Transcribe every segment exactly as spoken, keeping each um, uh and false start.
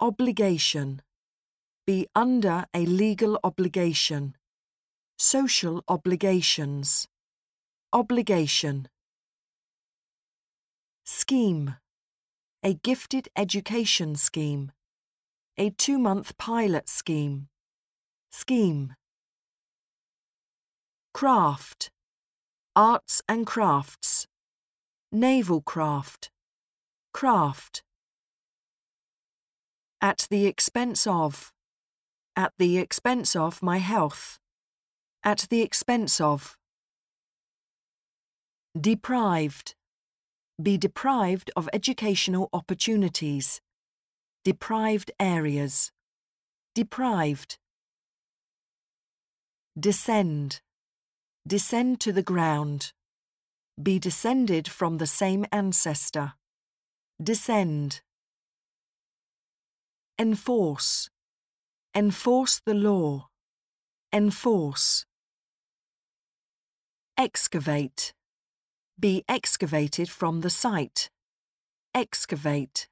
Obligation. Be under a legal obligation. Social obligations. Obligation. Scheme. A gifted education scheme. A two-month pilot scheme. Scheme. Craft. Arts and crafts. Naval craft. Craft. At the expense of. At the expense of my health. At the expense of. Deprived. Be deprived of educational opportunities. Deprived areas. Deprived. Descend. Descend to the ground. Be descended from the same ancestor. Descend. Enforce. Enforce the law. Enforce. Excavate. Be excavated from the site. Excavate.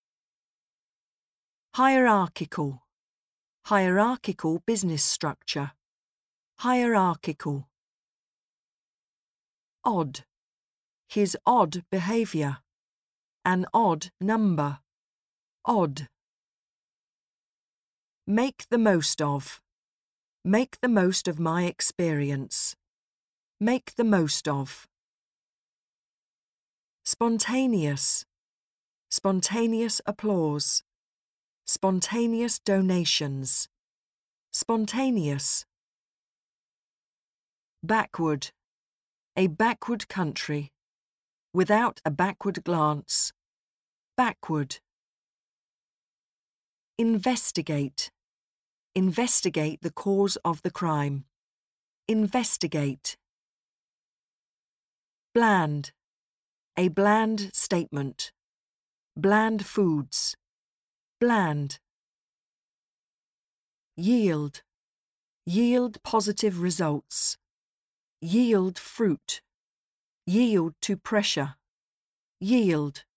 Hierarchical. Hierarchical business structure. Hierarchical. Odd. His odd behaviour. An odd number. Odd. Make the most of. Make the most of my experience. Make the most of. Spontaneous. Spontaneous applause. Spontaneous donations. Spontaneous. Backward. A backward country. Without a backward glance. Backward. Investigate. Investigate the cause of the crime. Investigate. Bland. A bland statement. Bland foods. Bland. Yield. Yield positive results. Yield fruit. Yield to pressure. Yield.